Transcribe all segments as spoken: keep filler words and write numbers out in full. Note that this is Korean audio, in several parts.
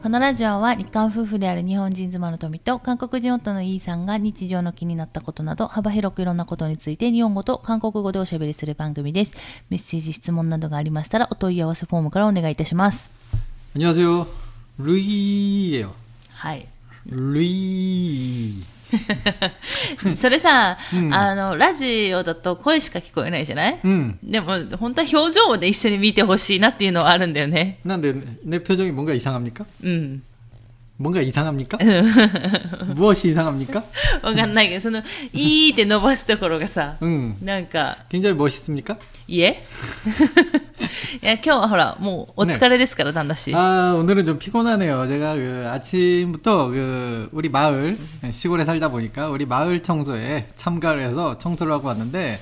このラジオは日韓夫婦である日本人妻の富と韓国人夫のイーさんが日常の気になったことなど幅広くいろんなことについて日本語と韓国語でおしゃべりする番組です。メッセージ質問などがありましたらお問い合わせフォームからお願いいたします。 안녕하세요 루이예요。 はい。 ルイそれさ、 うん、 あのラジオだと声しか聞こえないじゃない、 うん、 でも本当は表情で一緒に見てほしいなっていうのはあるんだよね。 なんで내 표정이 뭔가 이상합니까？ うん。 뭔가 이상합니까? 무엇이 이상합니까? わかんないけどそのいーって伸ばすところがさ、うん、なんか 굉장히 멋있습니까? いえいや今日はほらもうお疲れですから、 네. 단다 씨. 아 오늘은 좀 피곤하네요. 제가 그 아침부터 그 우리 마을 시골에 살다 보니까 우리 마을 청소에 참가를 해서 청소를 하고 왔는데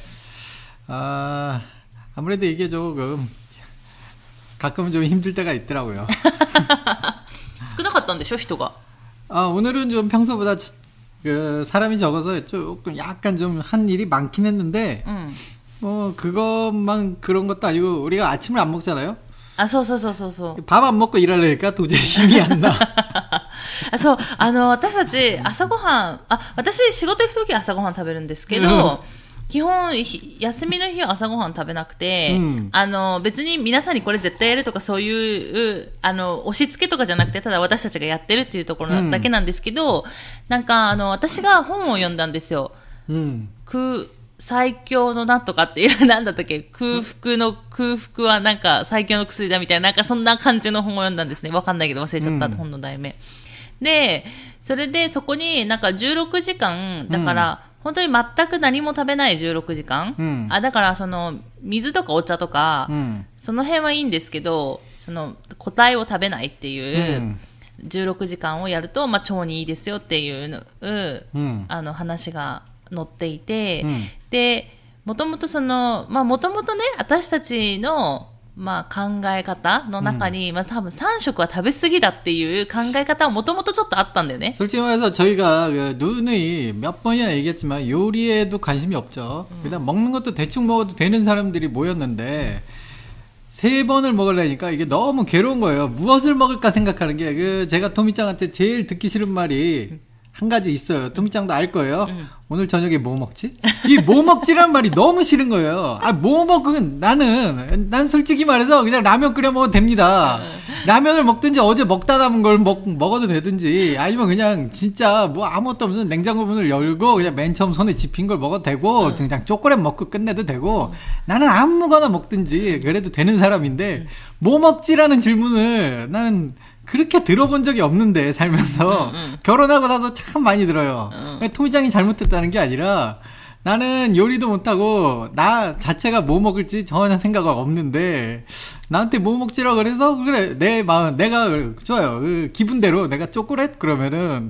아 아무래도 이게 조금 가끔은 좀 힘들 때가 있더라고요. 少なかったんでしょ人が. 아 오늘은 좀 평소보다 그 사람이 적어서 조금 약간 좀 한 일이 많긴 했는데 음. 뭐 그것만 그런 것도 아니고 우리가 아침을 안 먹잖아요. 아, そうそうそうそうそう。 밥 안 먹고 일하려니까 도저히 힘이 안 나. あ、そう、あの私たち朝ごはん、あ、私仕事行くときは朝ごはん食べるんですけど。基本休みの日は朝ごはん食べなくて、うん、あの別に皆さんにこれ絶対やるとかそういうあの押し付けとかじゃなくてただ私たちがやってるっていうところだけなんですけど、うん、なんかあの私が本を読んだんですよ、うん、空最強のなんとかっていうなんだったっけ空腹の空腹はなんか最強の薬だみたいななんかそんな感じの本を読んだんですね。わかんないけど忘れちゃった、うん、本の題名でそれでそこになんかじゅうろくじかんだから、うん本当に全く何も食べないじゅうろくじかん、うん、あだからその水とかお茶とか、うん、その辺はいいんですけどその固体を食べないっていうじゅうろくじかんをやると、まあ、腸にいいですよっていうの、うん、あの話が載っていて、うん、でもともとそのまあもともとね私たちのまあ考え方の中に、うん、まあ多分さん食は食べ過ぎだっていう考え方はもともとちょっとあったんだよね。 솔직히 말해서 저희가 누누이 몇 번이나 얘기했지만 요리에도 관심이 없죠. 음. 그다음 먹는 것도 대충 먹어도 되는 사람들이 모였는데 세 번을 먹으려니까 이게 너무 괴로운 거예요. 무엇을 먹을까 생각하는 게 그 제가 토미짱한테 제일 듣기 싫은 말이 음. 한 가지 있어요. 토미짱도 알 거예요. 음. 오늘 저녁에 뭐 먹지? 이 뭐 먹지란 말이 너무 싫은 거예요. 아, 뭐 먹은 나는 난 솔직히 말해서 그냥 라면 끓여 먹어도 됩니다. 라면을 먹든지 어제 먹다 남은 걸 먹, 먹어도 되든지 아니면 그냥 진짜 뭐 아무것도 없는 냉장고 문을 열고 그냥 맨 처음 손에 집힌 걸 먹어도 되고 그냥 초콜릿 먹고 끝내도 되고 나는 아무거나 먹든지 그래도 되는 사람인데 뭐 먹지라는 질문을 나는 그렇게 들어본 적이 없는데 살면서 응, 응. 결혼하고 나서 참 많이 들어요. 응. 토미짱이 잘못했다는 게 아니라 나는 요리도 못하고 나 자체가 뭐 먹을지 전혀 생각 없는데 나한테 뭐 먹지라 그래서 그래 내 마음 내가 좋아요 그 기분대로 내가 초콜릿 그러면은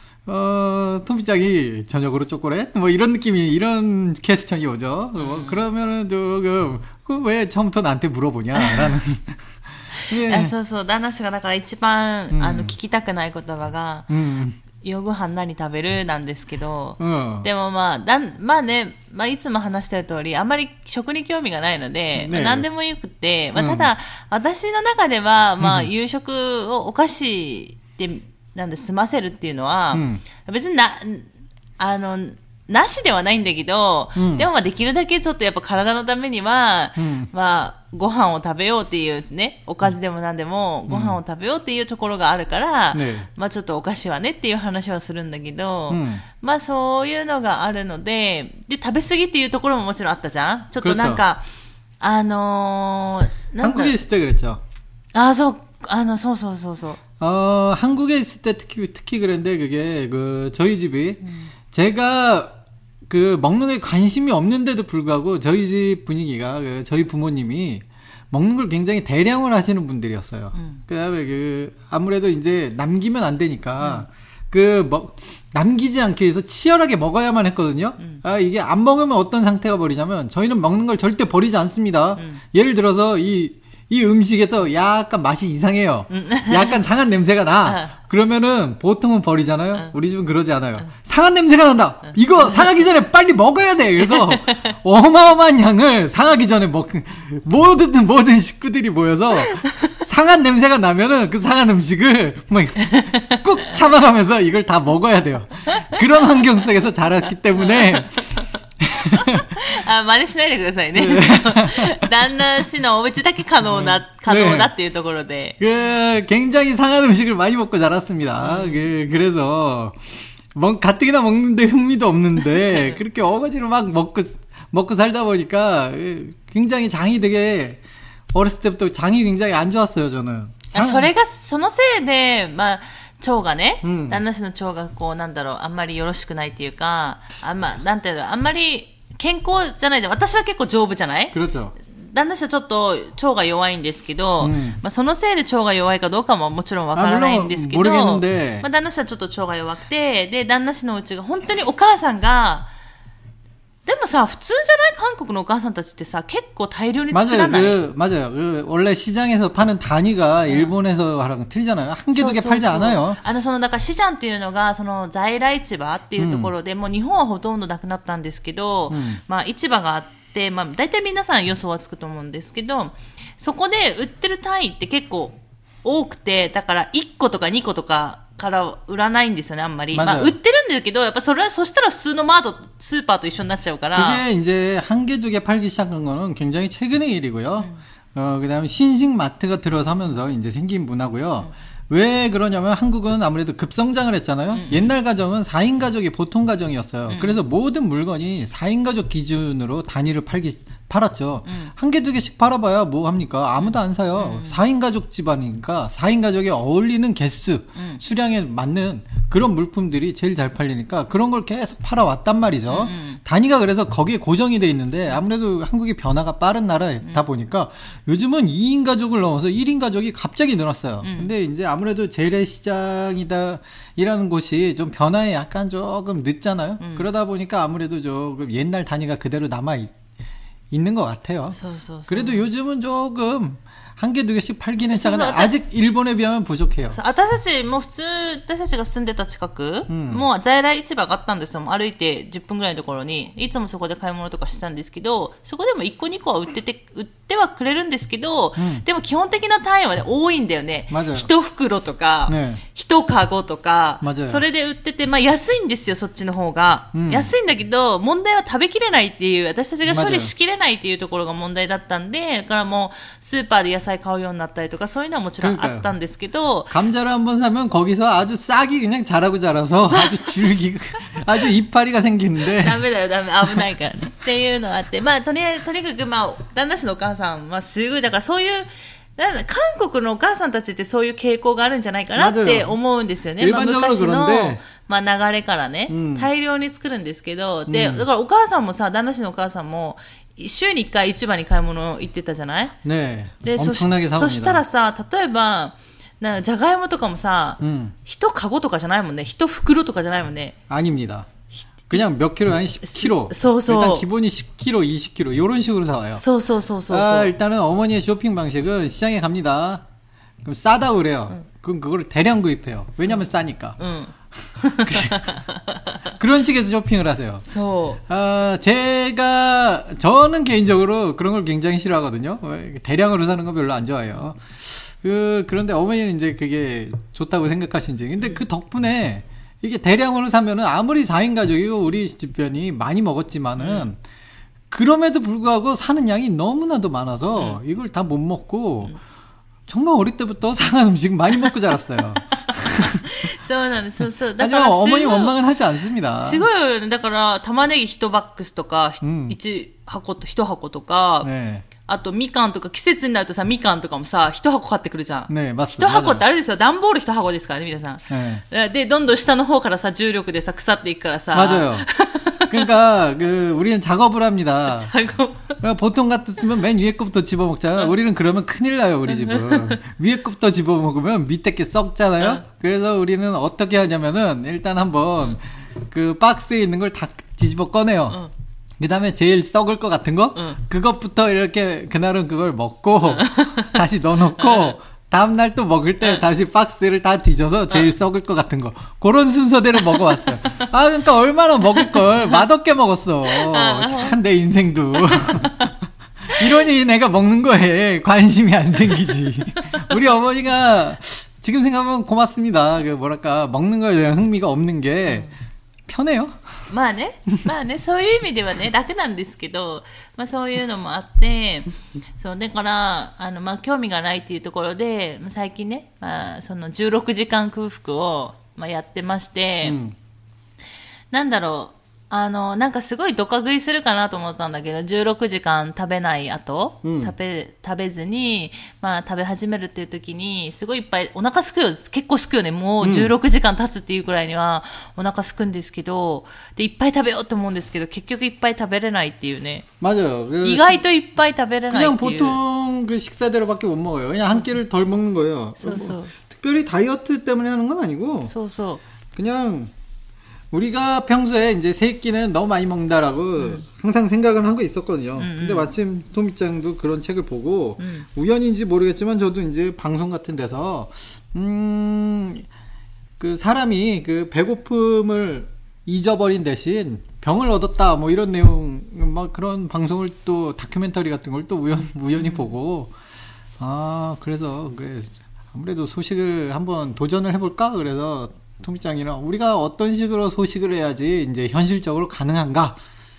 어 토미짱이 저녁으로 초콜릿 뭐 이런 느낌이 이런 퀘스천이 오죠. 음. 뭐 그러면은 그 왜 처음부터 나한테 물어보냐라는 あそうそう旦那氏がだから一番、うん、あの聞きたくない言葉が、うん、夜ご飯何食べるなんですけど、うん、でもまあだまあね、まあ、いつも話してる通りあんまり食に興味がないので、ねまあ、何でもよくて、まあ、ただ、うん、私の中では、まあ、夕食をお菓子でなんで済ませるっていうのは、うん、別になあのなしではないんだけど、うん、でもまあできるだけちょっとやっぱ体のためには、うん、まあご飯を食べようっていうね、おかずでもなんでもご飯を食べようっていうところがあるから、うんね、まあちょっとお菓子はねっていう話はするんだけど、うん、まあそういうのがあるので、で食べ過ぎっていうところももちろんあったじゃん。ちょっとなんかあのー、なんだ。 한국에 있을 때 그랬죠. 아, 저, 아, 너, 소, 소, 소, 소. 어, 한국에 있을 때 특히 특히 그랬는데 그게 그 저희 집이 음. 제가 그 먹는 게 관심이 없는데도 불구하고 저희 집 분위기가 그 저희 부모님이 먹는 걸 굉장히 대량을 하시는 분들이었어요. 음. 그다음에 그 아무래도 이제 남기면 안 되니까 음. 그 먹 남기지 않기 위해서 치열하게 먹어야만 했거든요. 음. 아 이게 안 먹으면 어떤 상태가 벌이냐면 저희는 먹는 걸 절대 버리지 않습니다. 음. 예를 들어서 이 이 음식에서 약간 맛이 이상해요. 음. 약간 상한 냄새가 나. 그러면은 보통은 버리잖아요. 음. 우리 집은 그러지 않아요. 음. 상한 냄새가 난다. 음. 이거 상하기 전에 빨리 먹어야 돼. 그래서 어마어마한 양을 상하기 전에 먹 모든 모든 식구들이 모여서 상한 냄새가 나면은 그 상한 음식을 막 꾹 참아가면서 이걸 다 먹어야 돼요. 그런 환경 속에서 자랐기 때문에 あ、真似しないでくださいね。旦那氏のお家だけ可能な、可能だっていうところで。 그 굉장히 상한 음식을 많이 먹고 자랐습니다. 음. 그, 그래서 뭐 가뜩이나 먹는데 흥미도 없는데 그렇게 어거지로 막 먹고 먹고 살다 보니까 굉장히 장이 되게 어렸을 때부터 장이 굉장히 안 좋았어요, 저는. 아, それがそのせいで、まあ腸がね、うん、旦那氏の腸がこうなんだろう、あんまりよろしくないっていうか、あんまなんていうの、あんまり健康じゃないで、私は結構丈夫じゃない？ 그렇죠. 旦那氏はちょっと腸が弱いんですけど、うん、まあ、そのせいで腸が弱いかどうかももちろんわからないんですけど、まあ、旦那氏はちょっと腸が弱くて、で旦那氏のうちが本当にお母さんがでもさ、普通じゃない韓国のお母さんたちってさ、結構大量に作らない？ 맞아요. 그, 맞아요. 그, 원래 시장에서 파는 단위가 일본에서랑 틀리잖아요. 한 개 두 개 팔지 않아요. あの、その、だから市場っていうのが、その、在来市場っていうところで、うん、もう日本はほとんどなくなったんですけど、うん、まあ、市場があって、まあ、大体皆さん予想はつくと思うんですけど、そこで売ってる単位って結構多くて、だからいっことかにことか、から売らないんですよね、あんまり。まあ、売ってるんだけど、やっぱそれは、そしたら普通のマート、スーパーと一緒になっちゃうから。 그게 이제 한 개, 두 개 팔기 시작한 거는 굉장히 최근의 일이고요. 음. 어, 그 다음에 신식 마트가 들어서면서 이제 생긴 문화고요. 음. 왜 그러냐면 한국은 아무래도 급성장을 했잖아요. 음. 옛날 가정은 사 인 가족이 보통 가정이었어요. 음. 그래서 모든 물건이 사 인 가족 기준으로 단위를 팔기, 팔았죠. 음. 한 개, 두 개씩 팔아봐야 뭐 합니까? 아무도 안 사요. 음. 사 인 가족 집안이니까 사 인 가족에 어울리는 개수, 음. 수량에 맞는 그런 물품들이 제일 잘 팔리니까 그런 걸 계속 팔아왔단 말이죠. 음. 단위가 그래서 거기에 고정이 돼 있는데 아무래도 한국이 변화가 빠른 나라다 보니까 요즘은 이 인 가족을 넘어서 일 인 가족이 갑자기 늘었어요. 음. 근데 이제 아무래도 재래시장이다 이라는 곳이 좀 변화에 약간 조금 늦잖아요. 음. 그러다 보니까 아무래도 조금 옛날 단위가 그대로 남아있 있는 것 같아요. 그래도 요즘은 조금 한 개, 두 개씩 팔기는 시작하는데 아직 일본에 비하면 부족해요. 私たちも普通、私たちが住んでた近く、うん、もう在来市場があったんですよ。歩いてじゅっぷんぐらいのところに、いつもそこで買い物とかしてたんですけど、そこでもいっこにこは売ってて、売ってはくれるんですけど、うん、でも基本的な単位はね、多いんだよね。一袋とか、ね、一カゴとか、それで売ってて、まあ安いんですよ、そっちの方が。うん、安いんだけど、問題は食べきれないっていう、私たちが処理しきれないっていうところが問題だったんで、だからもう、スーパーで野菜買うようになったりとかそういうのはもちろんあったんですけど 감자를 한번 사면 거기서 아주 싹이 그냥 자라고 자라서 아주 줄기 아주 이파리가 생기는데 ダメだよダメ危ないからねっていうのがあってまあとりあえずとにかくまあ旦那氏のお母さんはすごいだからそういうなん韓国のお母さんたちってそういう傾向があるんじゃないかなって思うんですよね。まあ、昔の、まあ、流れからね、うん、大量に作るんですけど、で、だからお母さんもさ、旦那氏のお母さんも、週にいっかい市場に買い物行ってたじゃない？ ねえ。で、そし、そしたらさ、例えば、なじゃがいもとかもさ、一、うん、カゴとかじゃないもんね。一袋とかじゃないもんね。 아닙니다. 그냥 몇 킬로 아니 십 킬로. 일단 기본이 십 킬로, 이십 킬로 이런 식으로 사와요. 아, 일단은 어머니의 쇼핑 방식은 시장에 갑니다. 그럼 싸다 그래요. 응. 그럼 그걸 대량 구입해요. 왜냐면 싸니까. 응. 그런 식에서 쇼핑을 하세요. 아, 제가 저는 개인적으로 그런 걸 굉장히 싫어하거든요. 대량으로 사는 거 별로 안 좋아해요. 그 그런데 어머니는 이제 그게 좋다고 생각하신지. 근데 그 덕분에 이게 대량으로 사면은 아무리 사 인 가족이고 우리 집변이 많이 먹었지만은 음. 그럼에도 불구하고 사는 양이 너무나도 많아서 음. 이걸 다 못 먹고 음. 정말 어릴 때부터 상한 음식 많이 먹고 자랐어요. 하지만 어머니 원망은 하지 않습니다. すごいよね。だから玉ねぎいちバックスとかいち箱といち箱とか。ねあと、みかんとか、季節になるとさ、みかんとかもさ、一箱買ってくるじゃん。ねえ、一箱ってあれですよ、段ボール一箱ですからね、皆さん。ね、で、どんどん下の方からさ、重力でさ、腐っていくからさ。 맞아요. 그러니까, 그, 우리는 작업을 합니다. 작업. 보통 같았으면 맨 위에 거부터 집어먹잖아요. 우리는 그러면 큰일 나요, 우리 집은. 위에 거부터 집어먹으면 밑에 게 썩잖아요. 그래서 우리는 어떻게 하냐면은, 일단 한번, 그 박스에 있는 걸 다 뒤집어 꺼내요. 그 다음에 제일 썩을 것 같은 거? 응. 그것부터 이렇게 그날은 그걸 먹고 응. 다시 넣어놓고 응. 다음날 또 먹을 때 응. 다시 박스를 다 뒤져서 제일 응. 썩을 것 같은 거 그런 순서대로 먹어왔어요. 아 그러니까 얼마나 먹을 걸 맛없게 먹었어. 참 내 인생도. 이러니 내가 먹는 거에 관심이 안 생기지. 우리 어머니가 지금 생각하면 고맙습니다. 그 뭐랄까 먹는 거에 대한 흥미가 없는 게 편해요. まあね、まあね、そういう意味ではね、楽なんですけど、まあそういうのもあって、そうだからあのまあ興味がないっていうところで、最近ね、まあそのじゅうろくじかん空腹をまあやってまして、うん、なんだろう。あの、なんかすごいドカ食いするかなと思ったんだけど、じゅうろくじかん食べない後、うん、食べ、食べずに、まあ食べ始めるっていう時に、すごいいっぱい、お腹すくよ、結構すくよね。もうじゅうろくじかん経つっていうくらいにはお腹すくんですけど、で、いっぱい食べようと思うんですけど、結局いっぱい食べれないっていうね。 맞아요. 意外といっぱい食べれないっていう。 그냥 보통 그 식사대로밖에 못 먹어요. 그냥 한 끼를 덜 먹는 거예요. そうそう。 특별히 다이어트 때문에 하는 건 아니고. そうそう。 그냥 우리가 평소에 이제 세 끼는 너무 많이 먹는다라고 음. 항상 생각을 하고 있었거든요. 음, 근데 마침 토미짱도 그런 책을 보고 음. 우연인지 모르겠지만 저도 이제 방송 같은 데서 음, 그 사람이 그 배고픔을 잊어버린 대신 병을 얻었다 뭐 이런 내용 막 그런 방송을 또 다큐멘터리 같은 걸 또 우연 우연히 음. 보고 아 그래서 그래 아무래도 소식을 한번 도전을 해볼까 그래서. 토미짱이랑 우리가 어떤 식으로 소식을 해야지 이제 현실적으로 가능한가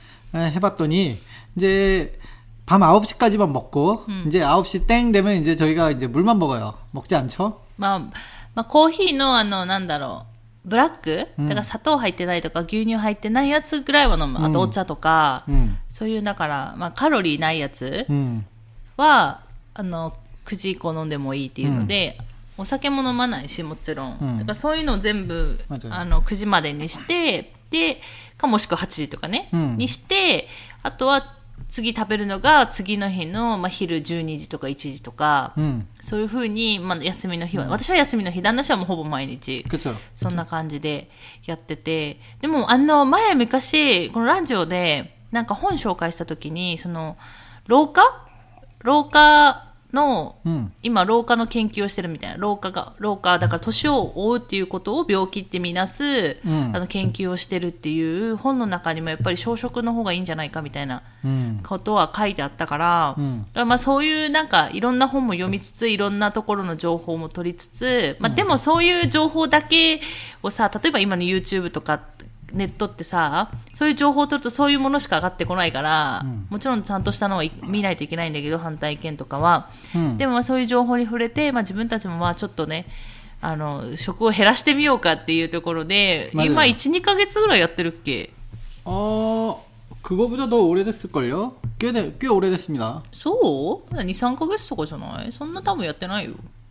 해봤더니 이제 밤 아홉 시까지만 먹고 음. 이제 아홉 시 땡 되면 이제 저희가 이제 물만 먹어요. 먹지 않죠? まあ、まあ、コーヒーのあのなんだろうブラック、うん、だから砂糖入ってないとか牛乳入ってないやつぐらいは飲む。あとお茶とか、うん、そういうだからまあカロリーないやつは、うん、あのくじ以降飲んでもいいっていうので。うん、お酒も飲まないしもちろん、うん、だからそういうのを全部あのくじまでにしてでかもしくははちじとかね、うん、にしてあとは次食べるのが次の日の、まあ、昼じゅうにじとかいちじとか、うん、そういう風に、まあ、休みの日は、うん、私は休みの日旦那氏はもうほぼ毎日そんな感じでやっててでもあの前昔このラジオでなんか本紹介した時にその老化老化の、うん、今老化の研究をしてるみたいな老化が老化だから年を追うっていうことを病気ってみなす、うん、あの研究をしてるっていう本の中にもやっぱり小食の方がいいんじゃないかみたいなことは書いてあったから、うん、だからまあそういうなんかいろんな本も読みつついろんなところの情報も取りつつ、まあ、でもそういう情報だけをさ例えば今の YouTube とかネットってさそういう情報を取るとそういうものしか上がってこないから、うん、もちろんちゃんとしたのは見ないといけないんだけど反対意見とかは、うん、でもまあそういう情報に触れて、まあ、自分たちもまあちょっとねあの食を減らしてみようかっていうところで今 いち,に ヶ月ぐらいやってるっけあ그거보다 더 오래됐을걸요? 꽤, 꽤 오래됐습니다. そう に,さん ヶ月とかじゃないそんな多分やってないよ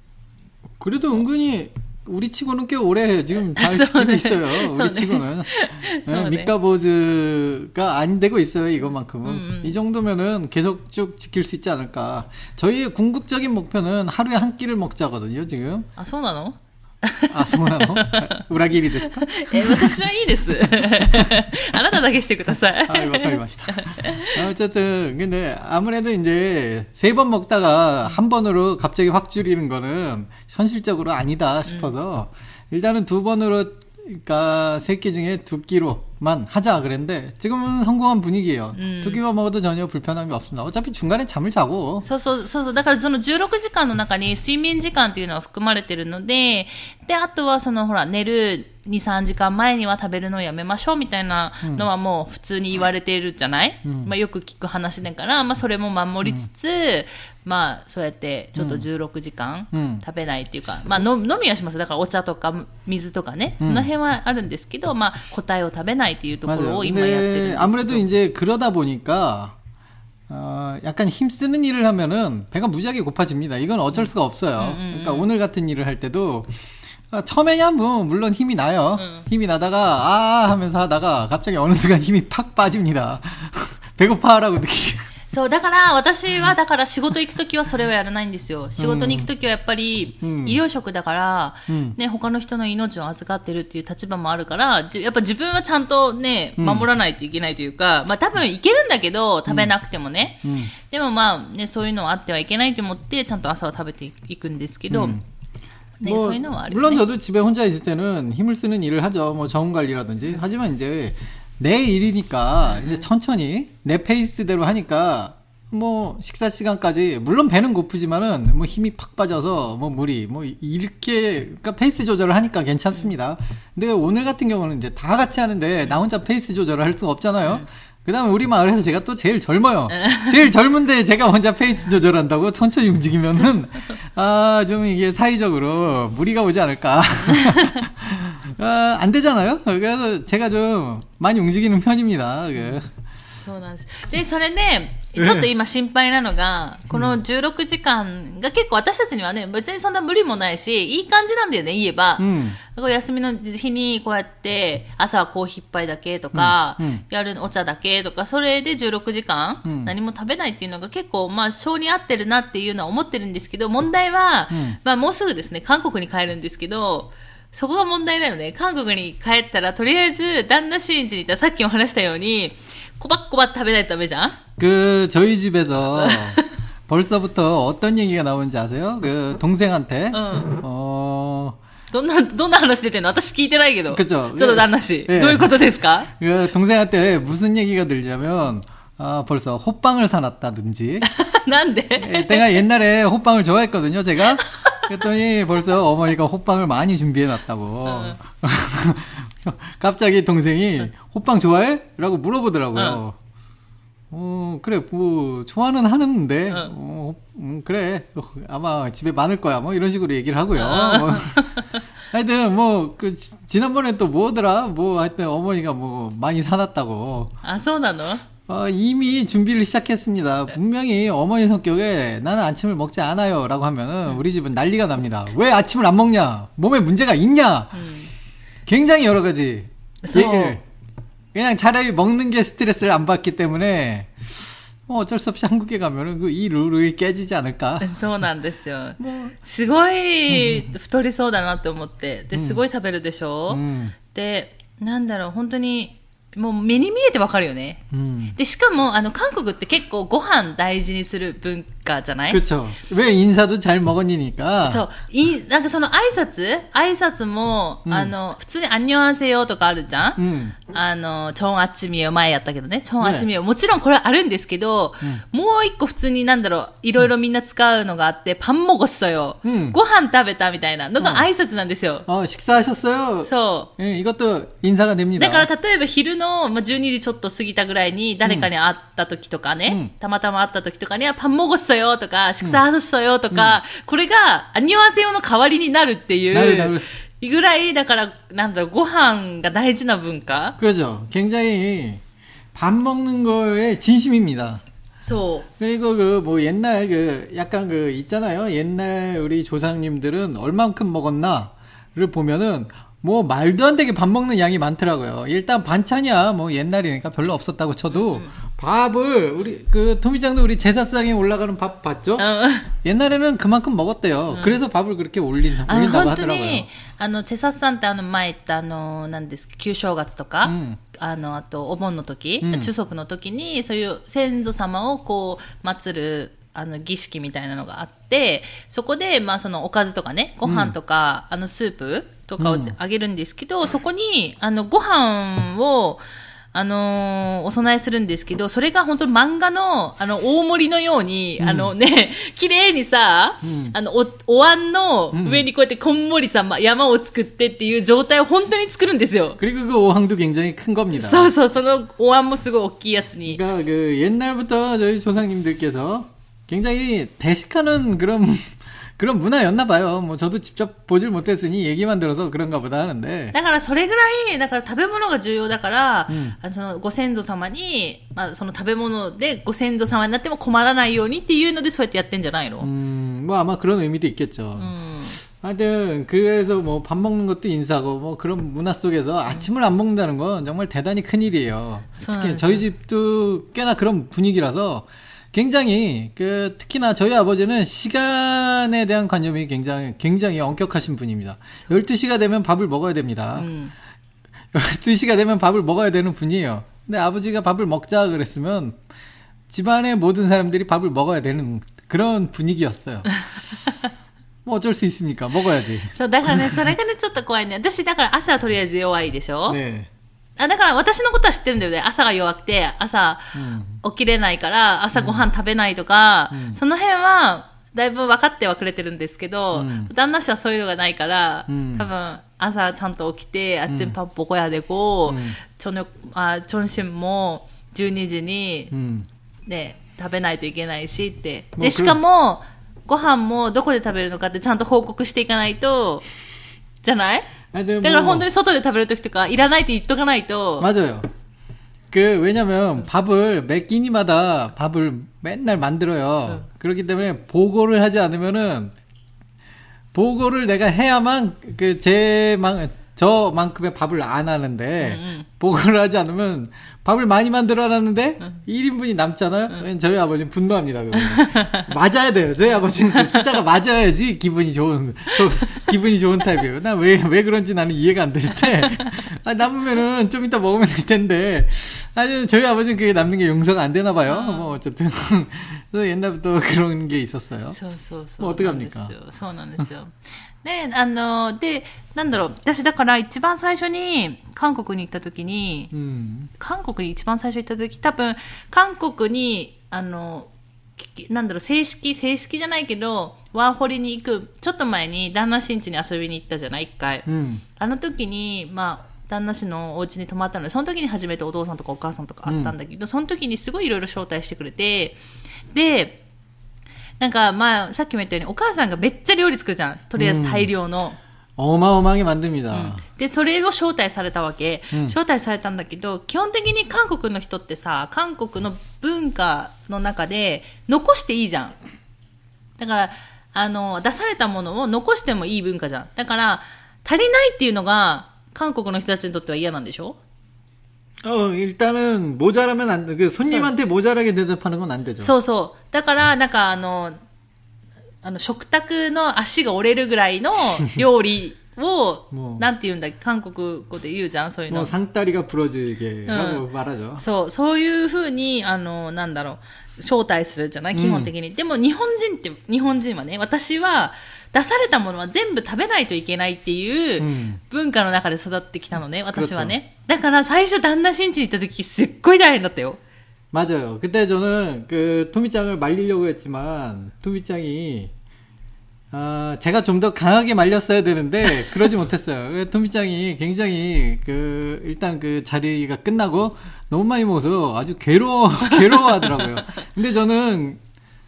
그래도 은근히 우리 치고는 꽤 오래 지금 잘 지키고 있어요. 우리 치고는. 네, 미카보즈가 안 되고 있어요. 이것만큼은. 음, 음. 이 정도면은 계속 쭉 지킬 수 있지 않을까. 저희의 궁극적인 목표는 하루에 한 끼를 먹자거든요, 지금. 아, そうなの? 아, そうなの? 우라기리ですか? え、私はいいです。あなただけしてください. 아, わかりました. 어쨌든 근데 아무래도 이제 세 번 먹다가 한 번으로 갑자기 확 줄이는 거는 현실적으로 아니다 싶어서 음. 일단은 두 번으로 그러니까 세 끼 중에 두 끼로만 하자 그랬는데 지금은 성공한 분위기예요. 음. 두 끼만 먹어도 전혀 불편함이 없습니다. 어차피 중간에 잠을 자고. そうそうそうそう。だからそのじゅうろくじかんの中に睡眠時間っていうのは含まれてるので、であとはそのほら寝るに、さんじかんまえには食べるのをやめましょうみたいなのはもう普通に言われているじゃない、うん、まあよく聞く話だから、まあそれも守りつつ、うん、まあそうやってちょっとじゅうろくじかん食べないっていうか、うん、まあ飲みはします。だからお茶とか水とかね、その辺はあるんですけど、まあ答えを食べないっていうところを今やってるんですけど。 아무래도 이제 그러다 보니까 어, 약간 힘쓰는 일을 하면은 배가 무지하게 고파집니다. 이건 어쩔 수가 없어요. 음, 음, 그러니까 음. 오늘 같은 일을 할 때도 아, 처음에야 뭐 물론 힘이 나요. 음. 힘이 나다가 아 하면서 하다가 갑자기 어느 순간 힘이 팍 빠집니다. 배고파라고 느끼게. そうだから私はだから仕事行くときはそれはやらないんですよ。仕事に行くときはやっぱり医療職だから、うんね、他の人の命を預かってるっていう立場もあるからやっぱ自分はちゃんとね守らないといけないというか、うん、まあ多分いけるんだけど食べなくてもね、うん、でもまあねそういうのはあってはいけないと思ってちゃんと朝は食べていくんですけど、うん네, 뭐, 물론 저도 집에 혼자 있을 때는 힘을 쓰는 일을 하죠. 뭐 정원 관리라든지. 하지만 이제 내 일이니까 이제 천천히 내 페이스대로 하니까 뭐 식사 시간까지 물론 배는 고프지만은 뭐 힘이 팍 빠져서 뭐 물이 뭐 이렇게 그러니까 페이스 조절을 하니까 괜찮습니다. 근데 오늘 같은 경우는 이제 다 같이 하는데 나 혼자 페이스 조절을 할 수가 없잖아요. 그 다음에 우리 마을에서 제가 또 제일 젊어요. 제일 젊은데 제가 혼자 페이스 조절한다고 천천히 움직이면은, 아, 좀 이게 사회적으로 무리가 오지 않을까. 아, 안 되잖아요? 그래서 제가 좀 많이 움직이는 편입니다. そうなんです。で、それで、ちょっと今心配なのが、このじゅうろくじかんが結構私たちにはね、別にそんな無理もないし、いい感じなんだよね、言えば。うん、休みの日にこうやって、朝はコーヒー一杯だけとか、うんうん、夜お茶だけとか、それでじゅうろくじかん、うん、何も食べないっていうのが結構、まあ、性に合ってるなっていうのは思ってるんですけど、問題は、うん、まあ、もうすぐですね、韓国に帰るんですけど、そこが問題だよね。韓国に帰ったら、とりあえず、旦那シーンに行ったらさっきも話したように、꼬박꼬박 食べないとダメじゃん? 그 저희 집에서 벌써부터 어떤 얘기가 나오는지 아세요? 그 동생한테 어, 어... どんなどんな話出てんの? 私聞いてないけど. 그죠? ちょっと旦那氏. 예. どういうことですか? 그 동생한테 무슨 얘기가 들냐면 아, 벌써 호빵을 사놨다든지. 난데? 내가 옛날에 호빵을 좋아했거든요, 제가. 그랬더니 벌써 어머니가 호빵을 많이 준비해놨다고. 어. 갑자기 동생이 호빵 좋아해? 라고 물어보더라고요. 어, 어 그래, 뭐, 좋아는 하는데, 어. 어, 음, 그래, 아마 집에 많을 거야, 뭐, 이런 식으로 얘기를 하고요. 어. 뭐. 하여튼, 뭐, 그, 지난번에 또 뭐더라? 뭐, 하여튼 어머니가 뭐, 많이 사놨다고. 아, 소나노? 어, 이미 준비를 시작했습니다. 분명히 어머니 성격에 나는 아침을 먹지 않아요. 라고 하면은, 우리 집은 난리가 납니다. 왜 아침을 안 먹냐? 몸에 문제가 있냐? 음. 굉장히 여러 가지 얘기를 그냥 차라리 먹는 게 스트레스를 안 받기 때문에 뭐 어쩔 수 없이 한국에 가면은 그 이 룰이 깨지지 않을까. そうなんですよ。すごい太りそうだなって思って、で、すごい食べるでしょ。うん、で、なんだろう、本当にもう目に見えてわかるよね。うん、で、しかもあの韓国って結構ご飯大事にする文化じゃない? 그렇죠. 왜 인사도 잘 먹었니까. そう。い、なんかその挨拶挨拶も、うん、あの、普通に안녕하세요とかあるじゃん、うん、あの、チョンアチミヨ前やったけどね。チョンアチミヨ。もちろんこれあるんですけど、うん、もう一個普通になんだろう、いろいろみんな使うのがあって、パン먹었어요。うん、ご飯食べたみたいなのが挨拶なんですよ。 あ、식사하셨어요。 そう。 예、 이것도 인사가 됩니다。 だから例えば昼の、まあ、じゅうにじちょっと過ぎたぐらいに誰かに会った時とかね、うん、たまたま会った時とかにはパン먹었어요とか、식사하셨어요とか、うん、これが안녕하세요の代わりになるっていう。なるなる。ぐらい、だから、なんだろう、ご飯が大事な文化? 그렇죠. 굉장히 밥 먹는 거에 진심입니다. 소. 그리고 그 뭐 옛날 그 약간 그 있잖아요. 옛날 우리 조상님들은 얼만큼 먹었나를 보면은 뭐 말도 안 되게 밥 먹는 양이 많더라고요. 일단 반찬이야 뭐 옛날이니까 별로 없었다고 쳐도 음. 밥을 우리 그 토미짱도 우리 제사상에 올라가는 밥 봤죠? 어. 옛날에는 그만큼 먹었대요. 음. 그래서 밥을 그렇게 올린, 올린다고 하더라고요. あの제사상ってあの前言ったあの何ですか旧正月とか、うん、あのあとお盆の時、うん、中足の時にそういう先祖様をこう祀るあの儀式みたいなのがあって、そこでまあそのおかずとかね、ご飯とか、うん、あのスープとかをあげるんですけど、うん、そこにあのご飯をあのー、お供えするんですけど、それが本当に漫画の、あの、大盛りのように、うん、あのね、綺麗にさ、うん、あの、お、お椀の上にこうやってこんもりさ、ま、山を作ってっていう状態を本当に作るんですよ。 그리고 그 어항도 굉장히 큰 겁니다. そうそう、そのお椀もすごい大きいやつに。 그러니까 그 옛날부터 저희 조상님들께서 굉장히 대식하는 그런 그런 문화였나 봐요. 뭐 저도 직접 보질 못했으니 얘기만 들어서 그런가 보다 하는데. だからそれぐらいだから食べ物が重要だから、うん、あのそのご先祖様にまあその食べ物でご先祖様になっても困らないようにっていうのでそうやってやってんじゃないの? 음, 뭐 아마 그런 의미도 있겠죠. 음. 하여튼 그래서 뭐 밥 먹는 것도 인사고 뭐 그런 문화 속에서 아침을 안 먹는다는 건 정말 대단히 큰 일이에요. 특히 저희 집도 꽤나 그런 분위기라서. 굉장히 그 특히나 저희 아버지는 시간에 대한 관념이 굉장히 굉장히 엄격하신 분입니다. 열두 시가 되면 밥을 먹어야 됩니다. 음. 열두 시가 되면 밥을 먹어야 되는 분이에요. 근데 아버지가 밥을 먹자 그랬으면 집안의 모든 사람들이 밥을 먹어야 되는 그런 분위기였어요. 뭐 어쩔 수 있습니까? 먹어야지. そうだからね、それがねちょっと怖いね。私だから朝はとりあえず弱いでしょ。ね。あ、だから私のことは知ってるんだよね。朝が弱くて、朝、うん、 起きれないから朝ごはん食べないとか、うん、その辺はだいぶ分かってはくれてるんですけど、うん、旦那氏はそういうのがないから、うん、多分朝ちゃんと起きて、あっち밥 먹어야 되고、저녁、あ、점심もじゅうにじに、うん、ね、食べないといけないしって。で、しかも、ご飯もどこで食べるのかってちゃんと報告していかないと、じゃない？だから本当に外で食べるときとか、いらないって言っとかないと。 맞아요。그 왜냐면 밥을 매 끼니마다 밥을 맨날 만들어요. 응. 그렇기 때문에 보고를 하지 않으면은 보고를 내가 해야만 그 제만 저만큼의 밥을 안 하는데 응, 응. 보고를 하지 않으면 밥을 많이 만들어놨는데 응. 일 인분이 남잖아요. 응. 저희 아버지는 분노합니다. 맞아야 돼요. 저희 아버지는 그 숫자가 맞아야지 기분이 좋은 기분이 좋은 타입이에요. 나 왜 왜 그런지 나는 이해가 안 되는데 아, 남으면은 좀 이따 먹으면 될 텐데 아니 저희 아버지는 그게 남는 게 용서가 안 되나 봐요. 아. 뭐 어쨌든 그래서 옛날부터 그런 게 있었어요. 뭐 어떻게 합니까? そうなんですよ。ね、あの、で、なんだろう、私だから一番最初に韓国に行った時に、うん、韓国に一番最初行った時、多分、韓国に、あの、なんだろう、正式、正式じゃないけど、ワーホリに行く、ちょっと前に旦那氏ん家に遊びに行ったじゃない、一回。うん、あの時に、まあ、旦那氏のお家に泊まったので、その時に初めてお父さんとかお母さんとか会ったんだけど、うん、その時にすごいいろいろ招待してくれて、で、なんか、まあ、さっきも言ったように、お母さんがめっちゃ料理作るじゃん。とりあえず大量の。 おまおまげ만듭니다。 うん、で、それを招待されたわけ、うん。招待されたんだけど、基本的に韓国の人ってさ、韓国の文化の中で残していいじゃん。だから、あの、出されたものを残してもいい文化じゃん。だから、足りないっていうのが、韓国の人たちにとっては嫌なんでしょ 어, 일단은 모자라면 안 돼. 그 손님한테 모자라게 대접하는 건 안 되죠. そうそう。だから、なんかあの、あの、食卓の足が折れるぐらいの料理を、なんて言うんだっけ、韓国語で言うじゃん、そういうの。 もう상다리가 부러지게라고 말하죠. そう、そういう風に、あの、なんだろう、招待するじゃない、基本的に。うん、でも日本人って、日本人はね、私は、出されたものは全部食べないといけないっていう文化の中で育ってきたのね、私はね。だから最初旦那新地に行った時すっごい大変だったよ。 맞아요. 그때 저는 그 토미짱을 말리려고 했지만 토미짱이 아, 제가 좀 더 강하게 말렸어야 되는데 그러지 못했어요. 토미짱이 굉장히 그 일단 그 자리가 끝나고 너무 많이 먹어서 아주 괴로워 괴로워하더라고요. 근데 저는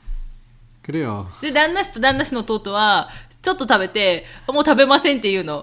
그래요. で、旦那氏と旦那氏の弟は、ちょっと食べて、もう食べませんって言うの。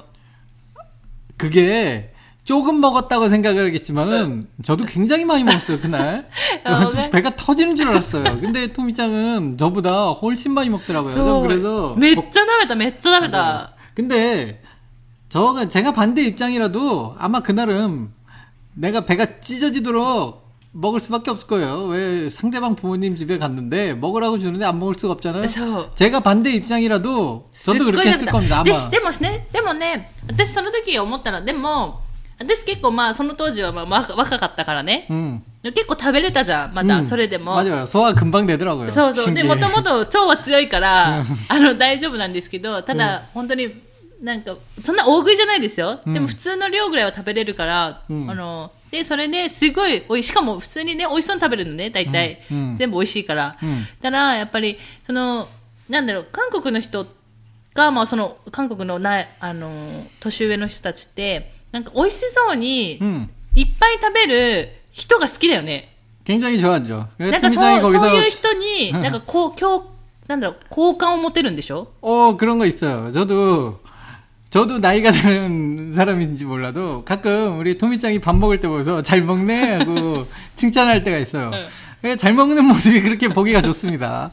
그게, 조금 먹었다고 생각을 하겠지만은, 저도 굉장히 많이 먹었어요, 그날. 배가 터지는 줄 알았어요. 근데 토미짱은 저보다 훨씬 많이 먹더라고요. 그래서. めっちゃ食べた、めっちゃ食べた。 근데, 저가, 제가 반대 입장이라도, 아마 그날은, 내가 배가 찢어지도록, 먹을 수밖에 없을 거예요. 왜 상대방 부모님 집에 갔는데 먹으라고 주는데 안 먹을 수가 없잖아요. 제가 반대 입장이라도 저도 그렇게 했을 겁니다. 아마. でもね、でもね、私その時思ったの。でも私結構まあその当時はまあ若かったからね。うん、結構食べれたじゃん。まだそれでも。 맞아요. 소화 금방 되더라고요. そうそう。でもともと腸は強いからあの大丈夫なんですけど、ただ本当になんかそんな大食いじゃないですよ。でも普通の量ぐらいは食べれるから、あの。で、それで、すごいおいし、しかも普通にね、美味しそうに食べるのね、大体。うん、全部美味しいから。うん、だから、やっぱり、その、なんだろう、韓国の人が、まあ、その、韓国のな、あの、年上の人たちって、なんか美味しそうに、いっぱい食べる人が好きだよね。 굉장히 좋아하죠. なんかそう、そういう人に、なんかこう、今日、なんだろう、好感を持てるんでしょ? 어, 그런 거 있어요. 저도, 저도 나이가 드는 사람인지 몰라도 가끔 우리 토미짱이 밥 먹을 때 보면서 잘 먹네 하고 칭찬할 때가 있어요. 잘 먹는 모습이 그렇게 보기가 좋습니다.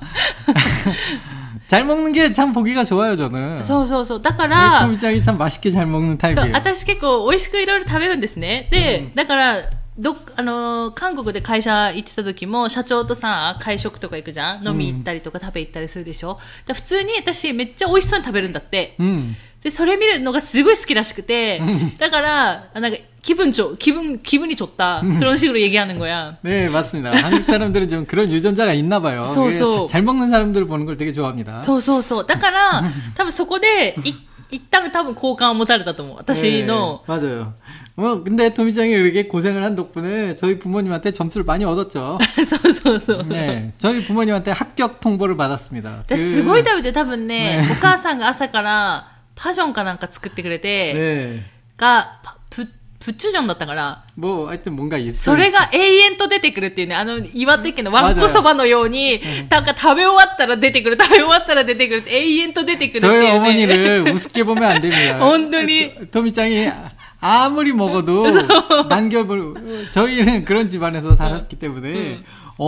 잘 먹는 게 참 보기가 좋아요, 저는. そうそうそう。だから、 토미짱이 참 맛있게 잘 먹는 타입이에요. 私結構美味しくいろいろ食べるんですね。で、だからどあの韓国で会社行ってた時も社長とさ会食とか行くじゃん、飲み行ったりとか食べ行ったりするでしょ。だ普通に私めっちゃ美味しそうに食べるんだって。うん、でそれ見るのがすごい好きらしくて、だからなんか기분 좋 기분 기분이 좋다 그런 식으로 얘기하는 거야. 네, 맞습니다. 한국 사람들은 좀 그런 유전자가 있나 봐요. 잘 먹는 사람들 보는 걸 되게 좋아합니다. そうそうそう。だから多分そこで一旦多分好感を持たれたと思う。私の。 네, 맞아요. 뭐 근데 토미짱이 이렇게 고생을 한 덕분에 저희 부모님한테 점수를 많이 얻었죠. そうそうそう。 네, 저희 부모님한테 합격 통보를 받았습니다. すごい食べて多分ね、お母さんが朝からパジョンかなんか作ってくれて、 네. がププチュジョンだったから、 뭐 하여튼 뭔가 있어요. それが永遠と出てくるっていうね、あの岩手県のわんこそばのように、なんか食べ終わったら出てくる、食べ終わったら出てくるって永遠と出てくるっていうね。 저희 어머니를 우습게 보면 안 됩니다. 本当に 토미짱이 아무리 먹어도 남겨볼, 저희는 그런 집안에서 살았기 때문에 응.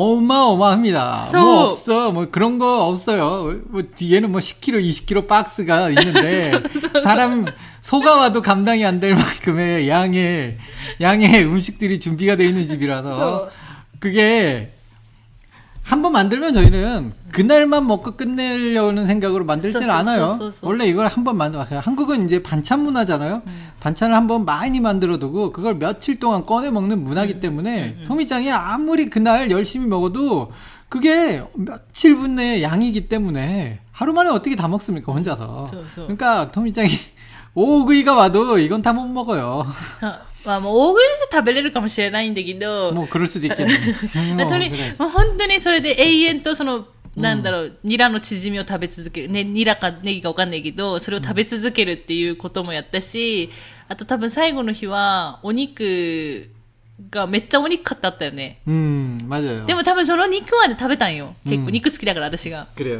어마어마합니다. so. 뭐 없어, 뭐 그런 거 없어요. 뭐 뒤에는 뭐 십 킬로그램, 이십 킬로그램 박스가 있는데 so, so, so. 사람 소가 와도 감당이 안 될 만큼의 양의 양의 음식들이 준비가 되어 있는 집이라서 so. 그게 한 번 만들면 저희는 그날만 먹고 끝내려는 생각으로 만들지는 않아요. 원래 이걸 한 번 만들어. 한국은 이제 반찬 문화잖아요. 음. 반찬을 한 번 많이 만들어두고 그걸 며칠 동안 꺼내 먹는 문화기 때문에 음. 토미짱이 아무리 그날 열심히 먹어도 그게 며칠 분의 양이기 때문에 하루 만에 어떻게 다 먹습니까 혼자서. 그러니까 토미짱이 오구이가 와도 이건 다 못 먹어요. まあ、もう大食いで食べれるかもしれないんだけど、 もう苦しいできない。 とりもう本当にそれで永遠とその、なんだろう、ニラのチヂミを食べ続ける、ね、ニラかネギかわかんないけど、それを食べ続けるっていうこともやったし、あと多分最後の日は、お肉がめっちゃお肉買ってあったよね。 うん、맞아요。 でも多分その肉まで食べたんよ。結構肉好きだから私が。 그래요。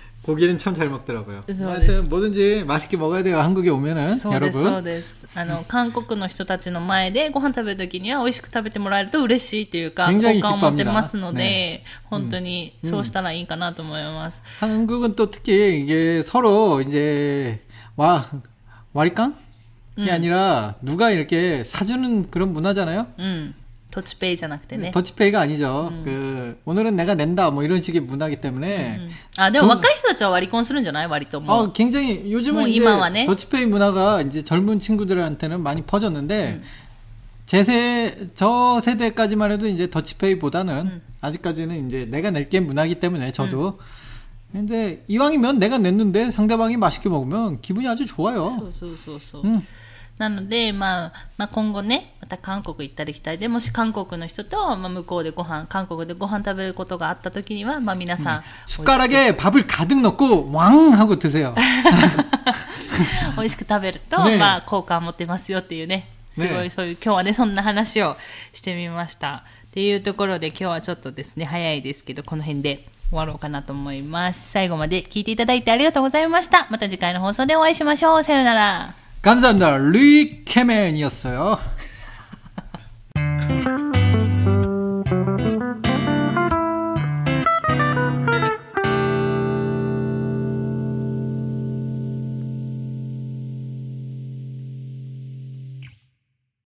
고기는 참 잘 먹더라고요. 하여튼 뭐든지 맛있게 먹어야 돼요. 한국에 오면은 여러분. そうです。あの韓国の人たちの前でご飯食べるときには美味しく食べてもらえると嬉しいというか好感を持ってますので、ね、本当にそうしたらいいかなと思います。 음. 음. 한국은 또 특히 이게 서로 이제 와 와리깡이 음. 아니라 누가 이렇게 사주는 그런 문화잖아요. 음. 더치페이 じゃなくてね。 더치페이가 아니죠. 음. 그 오늘은 내가 낸다 뭐 이런 식의 문화이기 때문에. 음. 아, 근데 若い人たちは割り婚するんじゃない? 割とも. 어, 굉장히 요즘은 이제 더치페이 문화가 이제 젊은 친구들한테는 많이 퍼졌는데 음. 제 세, 저 세대까지만 해도 이제 더치페이보다는 음. 아직까지는 이제 내가 낼게 문화이기 때문에 저도. 음. 근데 이왕이면 내가 냈는데 상대방이 맛있게 먹으면 기분이 아주 좋아요. そうそうそうそう。 음. なので、まあ、まあ今後ね、また韓国行ったり来たりで、もし韓国の人と、まあ向こうでご飯、韓国でご飯食べることがあった時には、まあ皆さん。 숟가락에 밥을 가득 넣고 왕 하고 드세요. 美味しく食べると、ね、まあ効果を持ってますよっていうね、すごい、ね、そういう、今日はね、そんな話をしてみました。っていうところで今日はちょっとですね、早いですけど、この辺で終わろうかなと思います。最後まで聞いていただいてありがとうございました。また次回の放送でお会いしましょう。さよなら。 감사합니다. 리케맨이었어요.